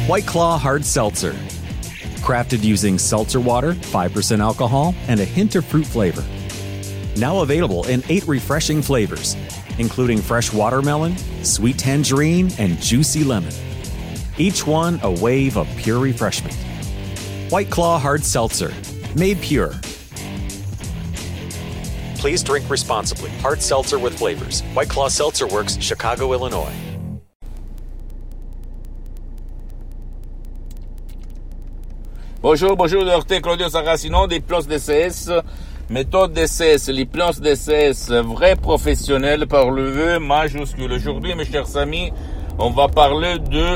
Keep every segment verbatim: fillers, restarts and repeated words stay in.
White Claw Hard Seltzer. Crafted using seltzer water, five percent alcohol, and a hint of fruit flavor. Now available in eight refreshing flavors, including fresh watermelon, sweet tangerine, and juicy lemon. Each one a wave of pure refreshment. White Claw Hard Seltzer, made pure. Please drink responsibly. Hard seltzer with flavors. White Claw Seltzer Works, Chicago, Illinois. Bonjour, bonjour, docteur Claudio Saracino d'Hypnose D C S, méthode D C S, l'hypnose D C S, vrai professionnel par le V majuscule. Aujourd'hui, mes chers amis, on va parler de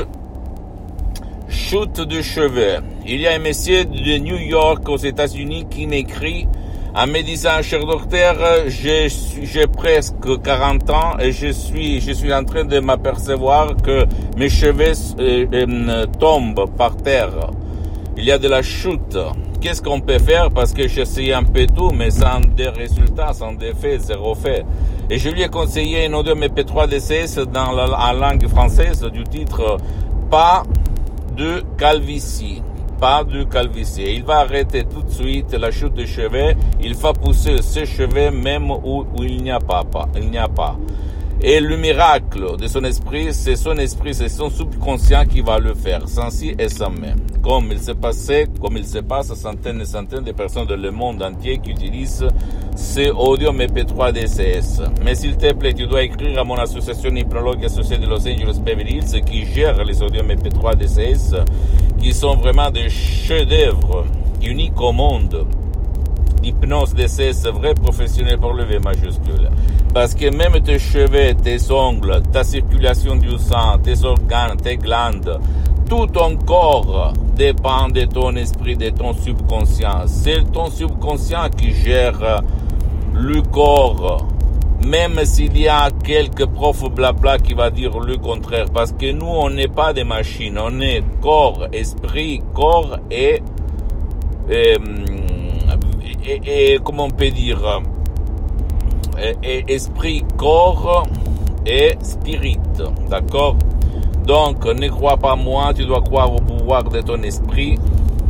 chute de cheveux. Il y a un monsieur de New York aux États-Unis qui m'écrit en me disant, cher docteur, j'ai, j'ai presque quarante ans et je suis, je suis en train de m'apercevoir que mes cheveux euh, euh, tombent par terre. Il y a de la chute. Qu'est-ce qu'on peut faire? Parce que j'essaye un peu tout, mais sans des résultats, sans des faits, zéro fait. Et je lui ai conseillé un audio M P trois D C S dans la, en langue française du titre « Pas de calvitie ». Pas de calvitie. Il va arrêter tout de suite la chute de cheveux. Il va pousser ses cheveux même où, où il n'y a pas, pas. Il n'y a pas. Et le miracle de son esprit, c'est son esprit, c'est son subconscient qui va le faire, sans si et sans mais. Comme il s'est passé, comme il se passe à centaines et centaines de personnes dans le monde entier qui utilisent ces audio M P trois D C S. Mais s'il te plaît, tu dois écrire à mon association hypnologue associée de Los Angeles Beverly Hills qui gère les audio M P trois D C S, qui sont vraiment des chefs-d'œuvre uniques au monde. Hypnose D C S, vrai professionnel pour le V majuscule. Parce que même tes cheveux, tes ongles, ta circulation du sang, tes organes, tes glandes, tout ton corps dépend de ton esprit, de ton subconscient. C'est ton subconscient qui gère le corps, même s'il y a quelques profs blabla qui va dire le contraire. Parce que nous, on n'est pas des machines, on est corps, esprit, corps et... et Et, et comment on peut dire, et, et esprit, corps et spirit, d'accord? Donc, ne crois pas moi, tu dois croire au pouvoir de ton esprit.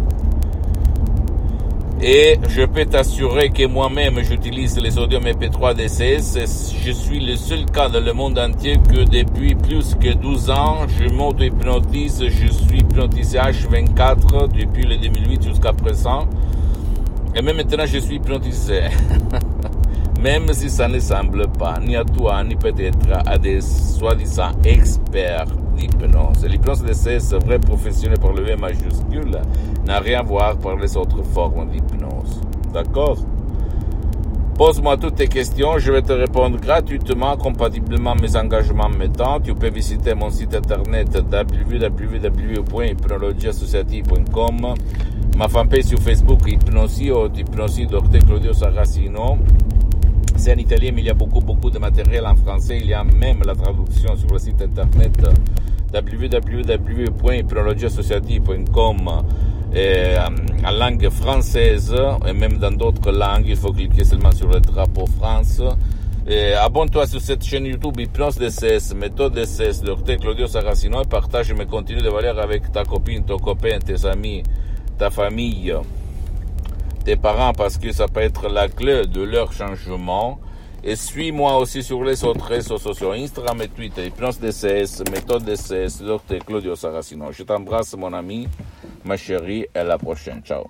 Et je peux t'assurer que moi-même, j'utilise les audio M P trois D C S. Je suis le seul cas dans le monde entier que depuis plus que douze ans, je m'auto-hypnotise. Je suis hypnotisé H vingt-quatre depuis le deux mille huit jusqu'à présent. Et même maintenant, je suis hypnotisé. Même si ça ne semble pas, ni à toi, ni peut-être à des soi-disant experts d'hypnose. L'hypnose D C S, vrai professionnel pour le V majuscule, n'a rien à voir par les autres formes d'hypnose. D'accord? Pose-moi toutes tes questions, je vais te répondre gratuitement, compatiblement à mes engagements mettants. Tu peux visiter mon site internet w w w point hypnologie associative point com, ma fanpage sur Facebook Hypnosie ou Hypnosie docteur Claudio Saracino. C'est en italien, mais il y a beaucoup, beaucoup de matériel en français. Il y a même la traduction sur le site internet w w w point hypnologie associative point com et, en langue française et même dans d'autres langues. Il faut cliquer seulement sur le drapeau France. Et abonne-toi sur cette chaîne YouTube Hypnose D C S, méthode D C S, docteur Claudio Saracino, et partage mes contenus de valeur avec ta copine, ton copain, tes amis, ta famille, tes parents, parce que ça peut être la clé de leur changement. Et suis-moi aussi sur les autres réseaux sociaux, Instagram et Twitter, Hypnose D C S, méthode D C S, docteur Claudio Saracino. Je t'embrasse, mon ami, ma chérie, et à la prochaine. Ciao.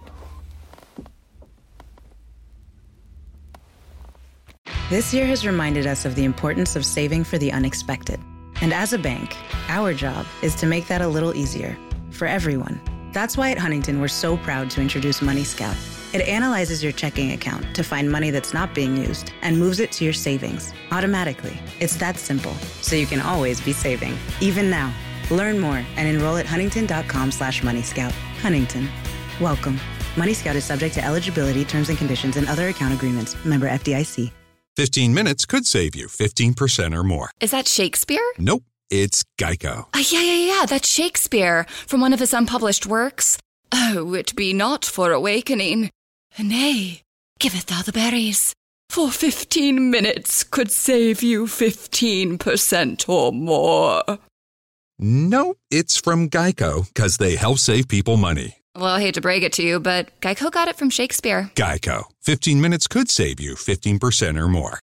This year has reminded us of the importance of saving for the unexpected. And as a bank, our job is to make that a little easier for everyone. That's why at Huntington, we're so proud to introduce Money Scout. It analyzes your checking account to find money that's not being used and moves it to your savings automatically. It's that simple, so you can always be saving, even now. Learn more and enroll at huntington.com slash Money Scout. Huntington. Welcome. Money Scout is subject to eligibility, terms and conditions, and other account agreements. Member F D I C. fifteen minutes could save you fifteen percent or more. Is that Shakespeare? Nope, it's Geico. Uh, yeah, yeah, yeah, that's Shakespeare from one of his unpublished works. Oh, it be not for awakening. Nay, giveth thou the berries. For fifteen minutes could save you fifteen percent or more. Nope, it's from Geico, because they help save people money. Well, I hate to break it to you, but Geico got it from Shakespeare. Geico. fifteen minutes could save you fifteen percent or more.